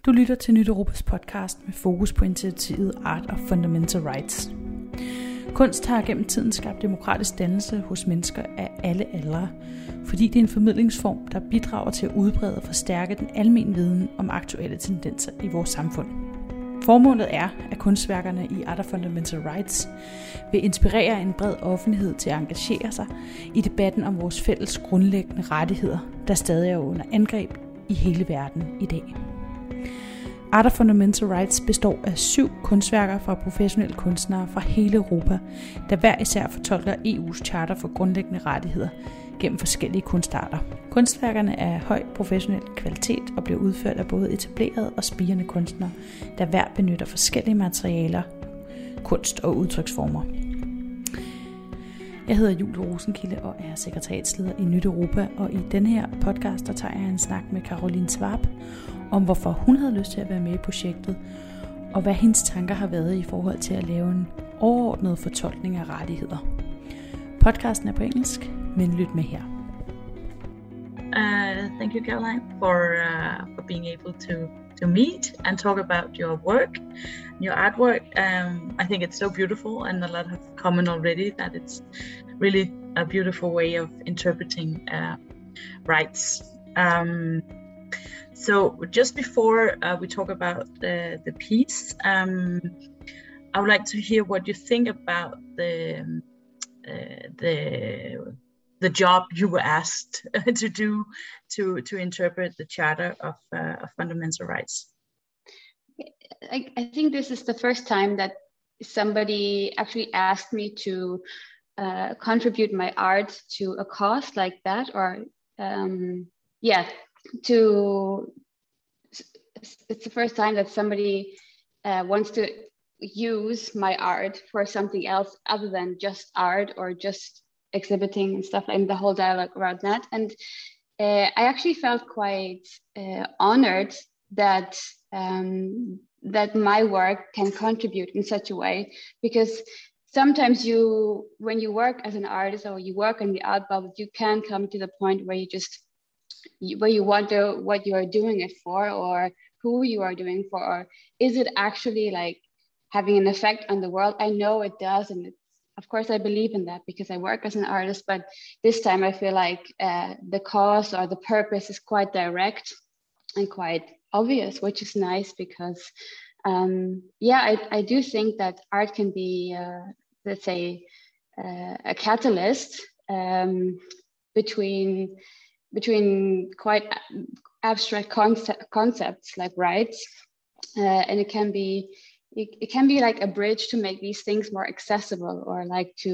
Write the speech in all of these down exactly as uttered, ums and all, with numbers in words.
Du lytter til Nyt Europas podcast med fokus på initiativet Art of Fundamental Rights. Kunst har gennem tiden skabt demokratisk dannelse hos mennesker af alle aldre, fordi det er en formidlingsform, der bidrager til at udbrede og forstærke den almene viden om aktuelle tendenser i vores samfund. Formålet er, at kunstværkerne i Art of Fundamental Rights vil inspirere en bred offentlighed til at engagere sig i debatten om vores fælles grundlæggende rettigheder, der stadig er under angreb i hele verden i dag. Art of Fundamental Rights består af syv kunstværker fra professionelle kunstnere fra hele Europa, der hver især fortolker E U's charter for grundlæggende rettigheder gennem forskellige kunstarter. Kunstværkerne er af høj professionel kvalitet og bliver udført af både etablerede og spirende kunstnere, der hver benytter forskellige materialer, kunst og udtryksformer. Jeg hedder Julie Rosenkilde og er sekretariatsleder i Nyt Europa, og i denne her podcast der tager jeg en snak med Caroline Schwab om hvorfor hun havde lyst til at være med i projektet, og hvad hendes tanker har været i forhold til at lave en overordnet fortolkning af rettigheder. Podcasten er på engelsk, men lyt med her. Uh, thank you, Caroline, for uh, for being able to to meet and talk about your work, your artwork. Um, I think it's so beautiful, and a lot have comment already that it's really a beautiful way of interpreting uh, rights. Um, so just before uh, we talk about the the piece, um, I would like to hear what you think about the uh, the the job you were asked to do to to interpret the Charter of, uh, of Fundamental Rights. I, I think this is the first time that somebody actually asked me to uh, contribute my art to a cause like that, or um, yeah, to it's the first time that somebody uh, wants to use my art for something else other than just art or just exhibiting and stuff, and the whole dialogue around that. And uh, I actually felt quite uh, honored that um, that my work can contribute in such a way, because sometimes you, when you work as an artist or you work in the art bubble, you can come to the point where you just where you wonder what you are doing it for, or who you are doing for, or is it actually like having an effect on the world? I know it does, and it's, of course I believe in that because I work as an artist, but this time I feel like uh, the cause or the purpose is quite direct and quite obvious, which is nice because um, yeah, I, I do think that art can be, uh, let's say, uh, a catalyst um, between between quite abstract concept, concepts like rights, uh, and it can be It, it can be like a bridge to make these things more accessible, or like to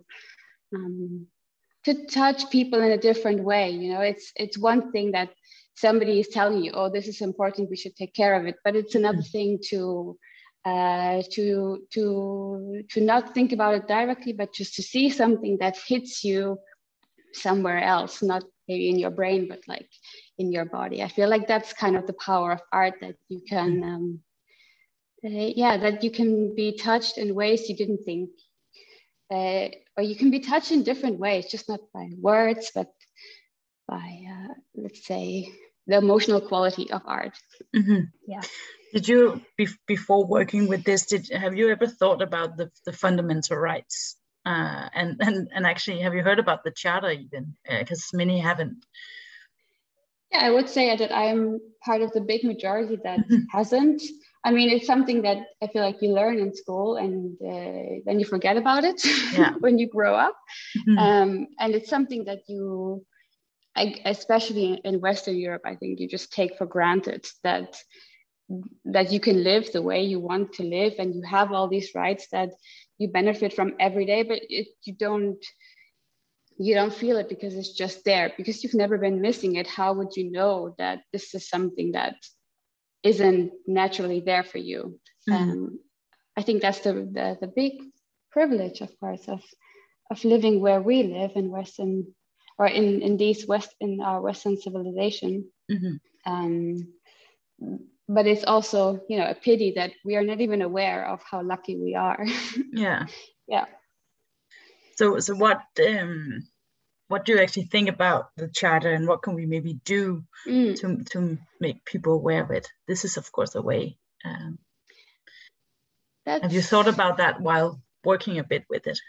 um, to touch people in a different way. You know, it's it's one thing that somebody is telling you, oh, this is important, we should take care of it. But it's another thing to uh, to to to not think about it directly, but just to see something that hits you somewhere else, not maybe in your brain, but like in your body. I feel like that's kind of the power of art, that you can. Um, Uh, yeah, that you can be touched in ways you didn't think, uh, or you can be touched in different ways, just not by words, but by, uh, let's say, the emotional quality of art. Mm-hmm. Yeah. Did you, be- before working with this, did have you ever thought about the, the fundamental rights? Uh, and, and, and actually, have you heard about the Charter even? Because uh, many haven't. Yeah, I would say that I'm part of the big majority that hasn't. I mean, it's something that I feel like you learn in school, and uh, then you forget about it yeah. when you grow up. Mm-hmm. Um, and it's something that you, I, especially in Western Europe, I think you just take for granted that that you can live the way you want to live, and you have all these rights that you benefit from every day, but it, you don't you don't feel it because it's just there, because you've never been missing it. How would you know that this is something that isn't naturally there for you? Mm-hmm. Um, I think that's the, the the big privilege, of course, of of living where we live in Western, or in in these West in our Western civilization. Mm-hmm. Um, but it's also, you know, a pity that we are not even aware of how lucky we are. Yeah. Yeah. So so what um what do you actually think about the charter, and what can we maybe do mm. to to make people aware of it? This is, of course, a way. Um, have you thought about that while working a bit with it?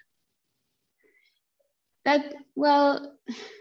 That, well,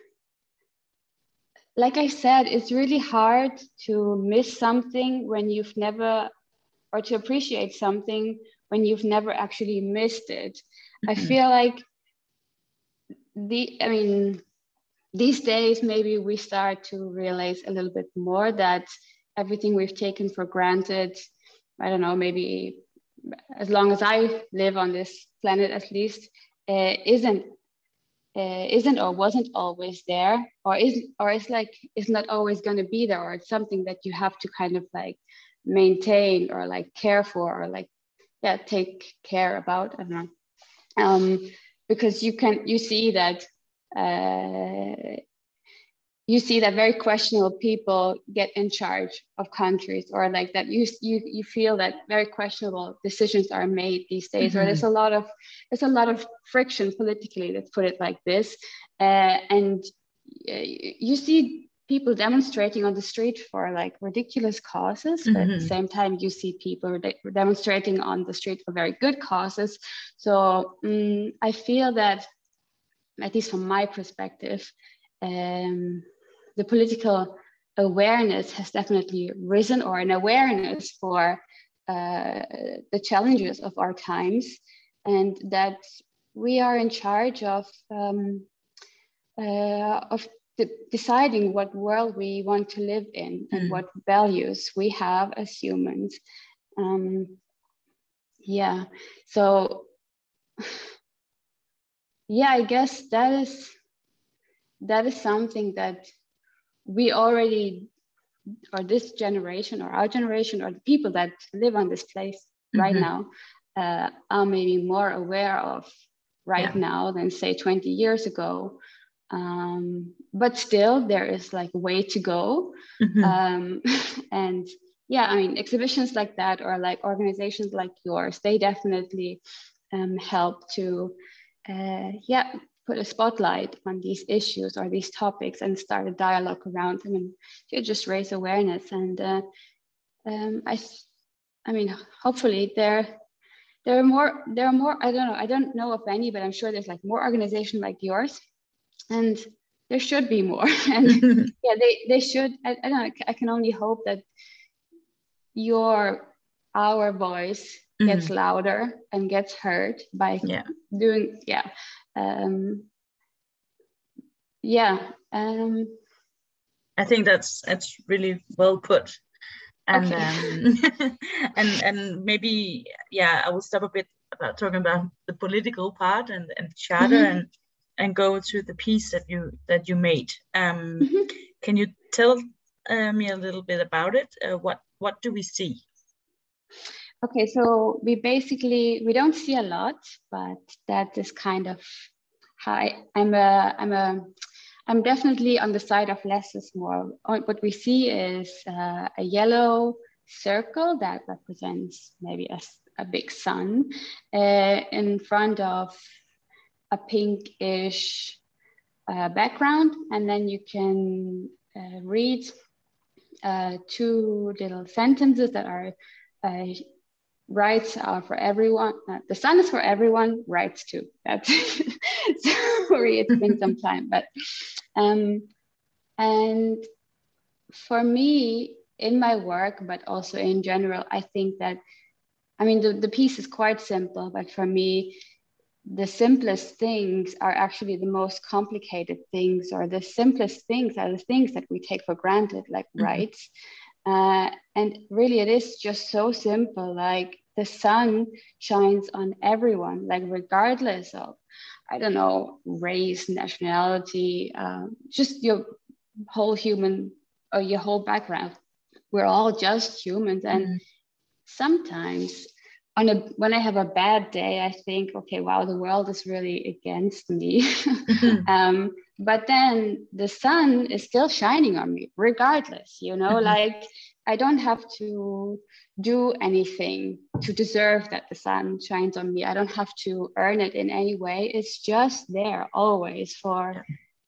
like I said, it's really hard to miss something when you've never, or to appreciate something when you've never actually missed it. Mm-hmm. I feel like the, I mean, these days, maybe we start to realize a little bit more that everything we've taken for granted, I don't know, maybe as long as I live on this planet, at least, uh, isn't uh, isn't or wasn't always there, or isn't, or it's like it's not always going to be there, or it's something that you have to kind of like maintain or like care for, or like yeah take care about. I don't know, um, because you can you see that. Uh, you see that very questionable people get in charge of countries, or like that you you you feel that very questionable decisions are made these days, mm-hmm. or there's a lot of there's a lot of friction politically, let's put it like this, uh, and uh, you see people demonstrating on the street for like ridiculous causes, mm-hmm. but at the same time you see people de- demonstrating on the street for very good causes. So um, I feel that, at least from my perspective, um, the political awareness has definitely risen, or an awareness for uh, the challenges of our times, and that we are in charge of um, uh, of de- deciding what world we want to live in, and mm. what values we have as humans. Um, yeah, so yeah, I guess that is that is something that we already, or this generation, or our generation, or the people that live on this place mm-hmm. right now, uh, are maybe more aware of right yeah. now than say twenty years ago. Um, but still, there is like a way to go. Mm-hmm. Um, and yeah, I mean, exhibitions like that, or like organizations like yours, they definitely um, help to, uh, yeah, put a spotlight on these issues or these topics, and start a dialogue around them, and to just raise awareness. And uh, um, I, I mean, hopefully there, there are more. There are more. I don't know. I don't know of any, but I'm sure there's like more organizations like yours, and there should be more. And yeah, they they should. I, I don't know. I can only hope that your our voice gets mm-hmm. louder and gets heard by yeah. doing yeah. Um, yeah, um, I think that's that's really well put, and okay. um, and and maybe yeah, I will stop a bit about talking about the political part and and the charter, mm-hmm. and and go to the piece that you that you made. Um, mm-hmm. Can you tell uh, me a little bit about it? Uh, what what do we see? Okay, so we basically, we don't see a lot, but that is kind of how I, I'm a, I'm a, I'm definitely on the side of less is more. What we see is uh, a yellow circle that represents maybe a, a big sun uh, in front of a pinkish uh, background. And then you can uh, read uh, two little sentences that are uh, rights are for everyone. Uh, the sun is for everyone, rights too. That's sorry, it's been some time, but um, and for me in my work, but also in general, I think that, I mean, the, the piece is quite simple, but for me, the simplest things are actually the most complicated things, or the simplest things are the things that we take for granted, like mm-hmm. rights. Uh, and really, it is just so simple. Like the sun shines on everyone, like regardless of, I don't know, race, nationality, um, just your whole human or your whole background. We're all just humans. And mm. sometimes on a, when I have a bad day, I think, okay, wow, the world is really against me. Mm-hmm. um, but then the sun is still shining on me regardless, you know, mm-hmm. like I don't have to do anything to deserve that the sun shines on me. I don't have to earn it in any way. It's just there always for,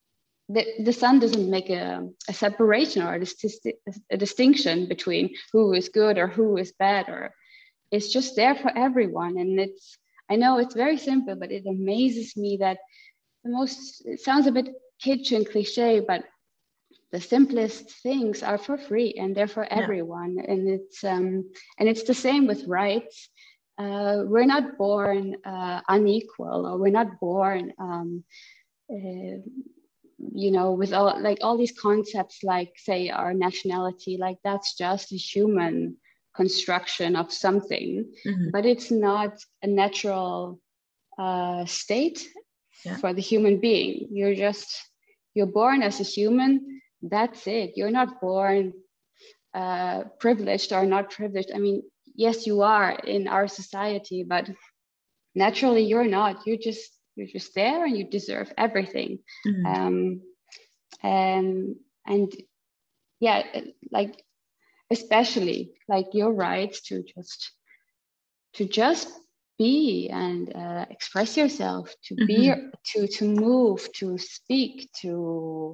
the, the sun doesn't make a, a separation or a, dis- a distinction between who is good or who is bad, or it's just there for everyone. And it's, I know it's very simple, but it amazes me that the most, it sounds a bit kitsch and cliche, but the simplest things are for free and they're for everyone. Yeah. And it's um, and it's the same with rights. Uh, we're not born uh, unequal, or we're not born, um, uh, you know, with all like all these concepts, like say our nationality, like that's just a human construction of something, mm-hmm. but it's not a natural uh, state yeah. for the human being. You're just, you're born as a human. That's it. You're not born uh, privileged or not privileged. I mean, yes, you are in our society, but naturally you're not. You're just you're just there, and you deserve everything. Mm-hmm. Um, and and yeah, like especially like your rights to just to just be and uh, express yourself, to mm-hmm. be, to to move, to speak, to.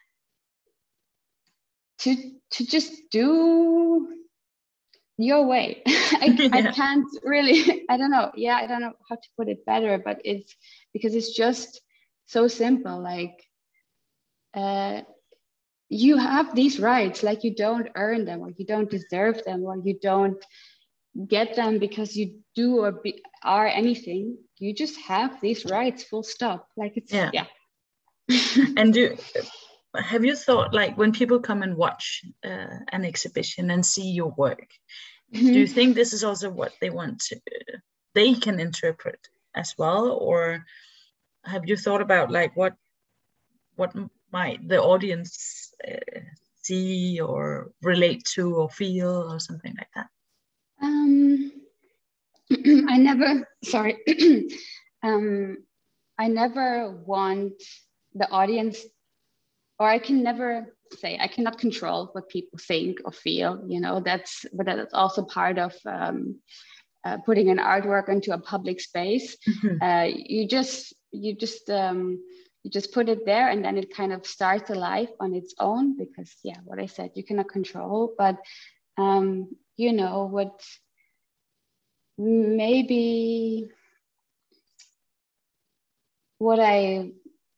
to to just do your way. I, yeah. I can't really, I don't know. Yeah, I don't know how to put it better, but it's because it's just so simple. Like uh, you have these rights, like you don't earn them, or you don't deserve them, or you don't get them because you do or be, are anything. You just have these rights, full stop. Like it's, yeah. yeah. And do have you thought, like, when people come and watch uh, an exhibition and see your work, mm-hmm. do you think this is also what they want to, uh, they can interpret as well? Or have you thought about like what what might the audience uh, see or relate to or feel or something like that? Um, I never, sorry, um, I never want the audience, or I can never say, I cannot control what people think or feel, you know, that's, but that's also part of um, uh, putting an artwork into a public space. Mm-hmm. Uh, you just, you just, um, you just put it there, and then it kind of starts a life on its own, because yeah, what I said, you cannot control, but um, you know, what maybe what I,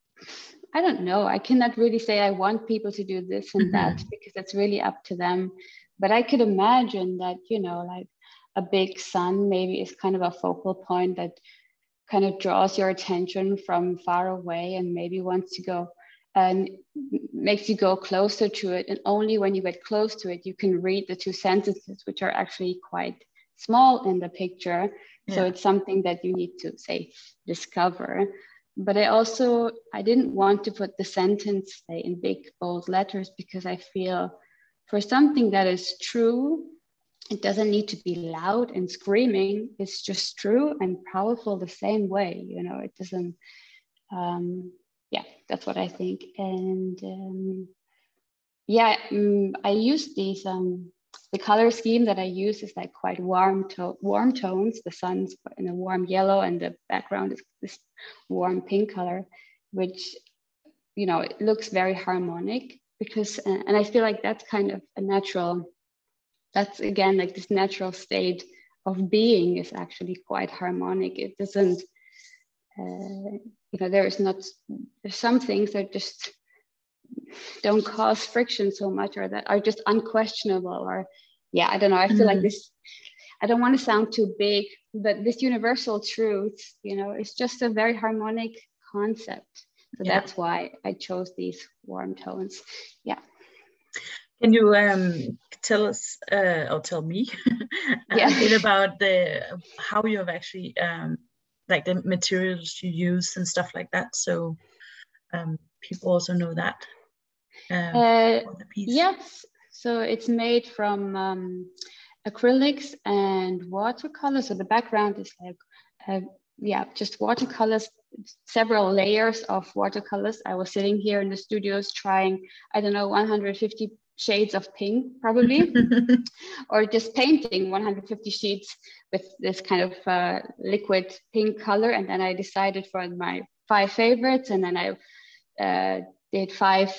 I don't know. I cannot really say I want people to do this and mm-hmm. that, because it's really up to them. But I could imagine that, you know, like a big sun maybe is kind of a focal point that kind of draws your attention from far away, and maybe wants to go and makes you go closer to it. And only when you get close to it, you can read the two sentences, which are actually quite small in the picture. Yeah. So it's something that you need to, say, discover. But I also, I didn't want to put the sentence, say, in big, bold letters, because I feel for something that is true, it doesn't need to be loud and screaming. It's just true and powerful the same way, you know, it doesn't, um, yeah, that's what I think. And um, yeah, um, I use these, um, the color scheme that I use is like quite warm, to- warm tones. The sun's in a warm yellow, and the background is this warm pink color, which, you know, it looks very harmonic, because, uh, and I feel like that's kind of a natural, that's again, like this natural state of being is actually quite harmonic. It doesn't, uh, you know, there is not, there's some things that just don't cause friction so much, or that are just unquestionable, or yeah, I don't know. I feel mm. like this, I don't want to sound too big, but this universal truth, you know, it's just a very harmonic concept. So yeah. That's why I chose these warm tones. Yeah. Can you um, tell us, uh, or tell me yeah. a bit about the how you have actually, um, like the materials you use and stuff like that, so um, people also know that? Um, uh, yes, so it's made from um, acrylics and watercolors. So the background is like, uh, yeah, just watercolors, several layers of watercolors. I was sitting here in the studios trying, I don't know, one hundred fifty shades of pink probably, or just painting one hundred fifty sheets with this kind of uh, liquid pink color. And then I decided for my five favorites, and then I uh, did five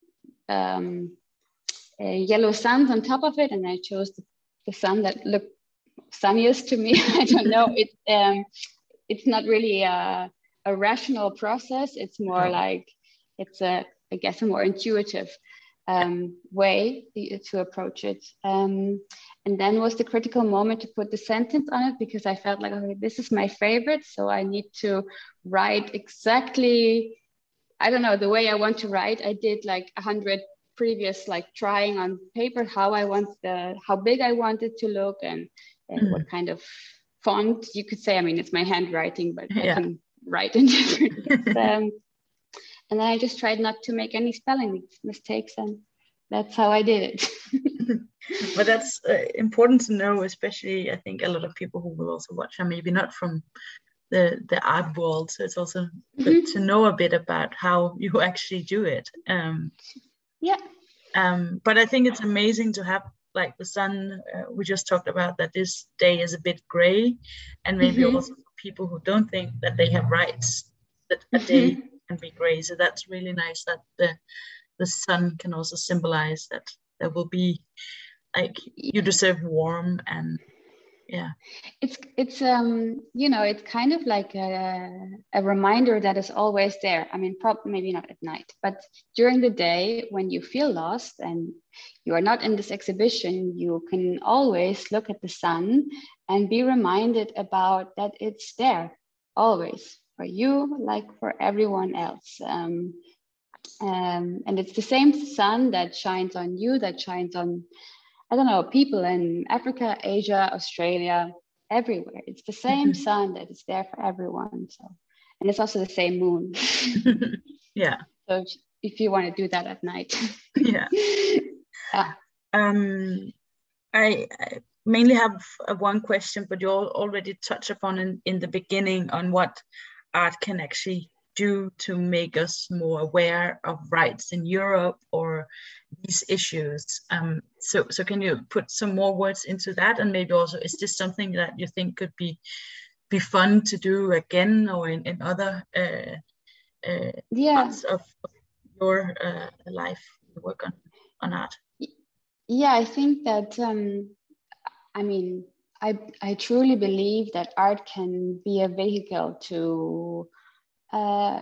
um, uh, yellow suns on top of it, and I chose the, the sun that looked sunniest to me. I don't know. It um, it's not really a, a rational process. It's more no. like it's a, I guess, a more intuitive um, way to approach it. Um, and then was the critical moment to put the sentence on it, because I felt like, okay, this is my favorite, so I need to write exactly, I don't know, the way I want to write. I did like a hundred previous, like trying on paper how I want the, how big I want it to look, and, and mm. what kind of font you could say. I mean, it's my handwriting, but yeah. I can write in different. um, and then I just tried not to make any spelling mistakes, and that's how I did it. But that's uh, important to know, especially I think a lot of people who will also watch are maybe not from the the art world, so it's also mm-hmm. good to know a bit about how you actually do it. Um, yeah. Um, but I think it's amazing to have like the sun. Uh, we just talked about that this day is a bit gray, and maybe mm-hmm. also for people who don't think that they have rights, that a mm-hmm. day can be gray. So that's really nice that the the sun can also symbolize that there will be, like, you deserve warm, and yeah. It's it's um you know, it's kind of like a, a reminder that is always there. I mean, probably maybe not at night, but during the day when you feel lost and you are not in this exhibition, you can always look at the sun and be reminded about that it's there always for you, like for everyone else. Um, um, and it's the same sun that shines on you, that shines on, I don't know, people in Africa, Asia, Australia, everywhere. It's the same mm-hmm. sun that is there for everyone. So, and it's also the same moon. Yeah. So if you want to do that at night. Yeah. yeah. Um, I, I mainly have uh, one question, but you all already touched upon in, in the beginning on what art can actually do to make us more aware of rights in Europe or these issues. Um, so, so can you put some more words into that? And maybe also, is this something that you think could be be fun to do again, or in, in other uh, uh, yeah. parts of, of your uh, life, you work on, on art? Yeah, I think that, um, I mean, I, I truly believe that art can be a vehicle to Uh,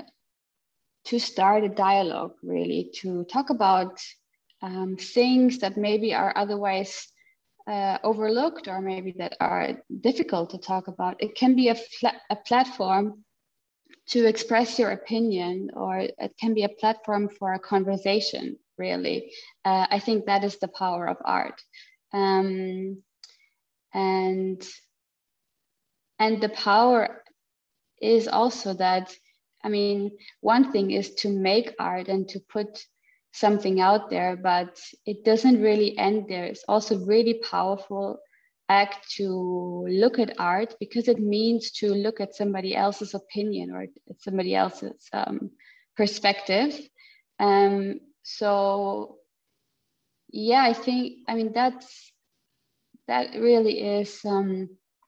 to start a dialogue, really, to talk about um, things that maybe are otherwise uh, overlooked, or maybe that are difficult to talk about. It can be a, a platform to express your opinion, or it can be a platform for a conversation, really. Uh, I think that is the power of art. Um, and, and the power is also that, I mean, one thing is to make art and to put something out there, but it doesn't really end there. It's also really powerful act to look at art, because it means to look at somebody else's opinion or somebody else's um, perspective. Um, so, yeah, I think, I mean, that's, that really is um,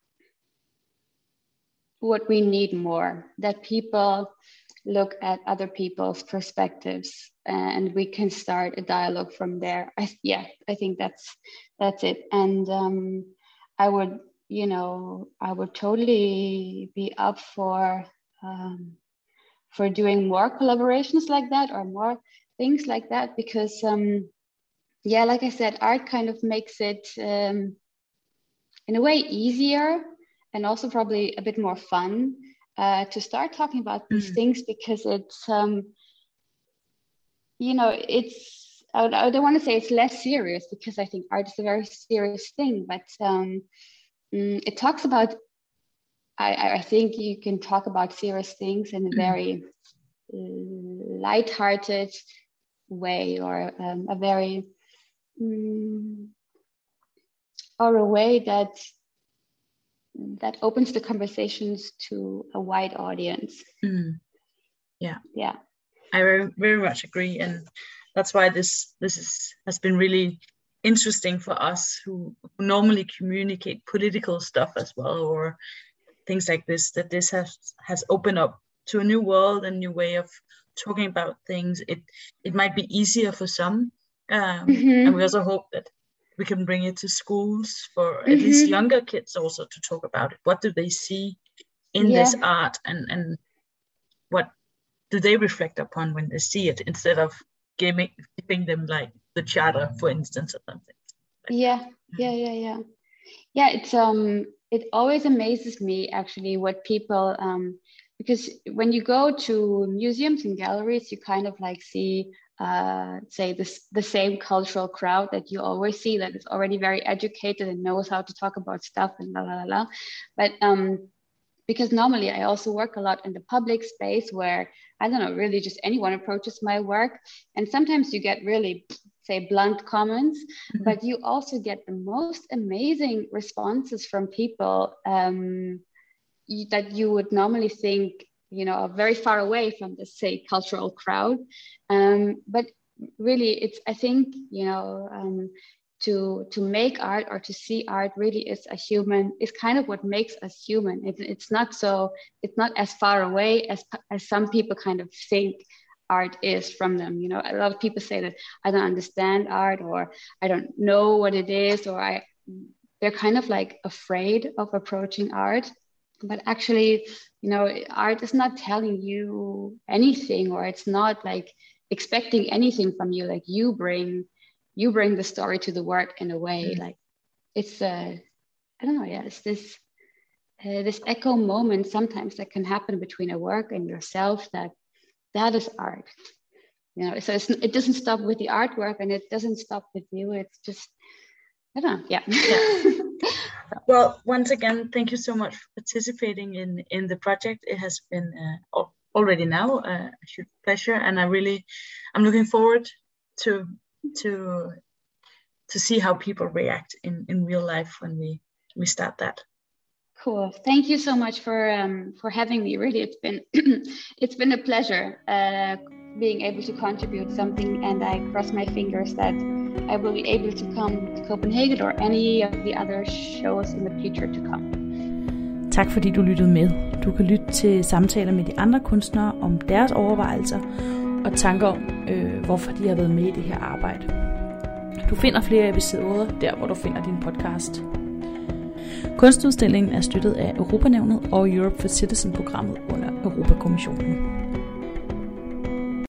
what we need more, that people look at other people's perspectives, and we can start a dialogue from there. I, yeah, I think that's that's it. And um, I would, you know, I would totally be up for um, for doing more collaborations like that, or more things like that, because um, yeah, like I said, art kind of makes it um, in a way easier, and also probably a bit more fun uh, to start talking about these mm. things, because it's, um, you know, it's, I, I don't want to say it's less serious, because I think art is a very serious thing, but um, mm, it talks about, I, I think you can talk about serious things in a very mm. light-hearted way, or um, a very, mm, or a way that that opens the conversations to a wide audience. Mm. Yeah, yeah, I very very much agree, and that's why this this is has been really interesting for us who, who normally communicate political stuff as well, or things like this. That this has has opened up to a new world, a new way of talking about things, it it might be easier for some, um, Mm-hmm. and we also hope that we can bring it to schools for at Mm-hmm. least younger kids also to talk about it. What do they see in Yeah. this art, and and what do they reflect upon when they see it, instead of giving giving them like the charter, for instance, or something. Like Yeah, yeah, yeah, yeah. Yeah, it's um it always amazes me actually what people um because when you go to museums and galleries, you kind of like see uh say this the same cultural crowd that you always see, that is already very educated and knows how to talk about stuff and la la la la. But um because normally I also work a lot in the public space where, I don't know, really just anyone approaches my work. And sometimes you get really, say, blunt comments, mm-hmm. but you also get the most amazing responses from people um, you, that you would normally think, you know, are very far away from the, say, cultural crowd. Um, but really, it's, I think, you know, um, to to make art or to see art really is a human, is kind of what makes us human. It, it's not so, it's not as far away as, as some people kind of think art is from them. You know, a lot of people say that I don't understand art, or I don't know what it is, or I, they're kind of like afraid of approaching art. But actually, you know, art is not telling you anything, or it's not like expecting anything from you. Like you bring you bring the story to the work in a way. Mm. Like it's uh I don't know, yeah, it's this uh, this echo moment sometimes that can happen between a work and yourself, that that is art, you know. So it's, it doesn't stop with the artwork, and it doesn't stop with you. It's just, I don't know, yeah. yeah. Well, once again, thank you so much for participating in in the project. It has been uh, already now uh, a huge pleasure, and I really I'm looking forward to to to see how people react in in real life when we we start that. Cool. Thank you so much for um for having me. Really, it's been it's been a pleasure uh being able to contribute something, and I cross my fingers that I will be able to come to Copenhagen or any of the other shows in the future to come. Tak fordi du lyttede med. Du kan lytte til samtaler med de andre kunstnere om deres overvejelser og tanker om, øh, hvorfor de har været med i det her arbejde. Du finder flere episoder der, hvor du finder din podcast. Kunstudstillingen er støttet af Europanævnet og Europe for Citizen-programmet under Europakommissionen.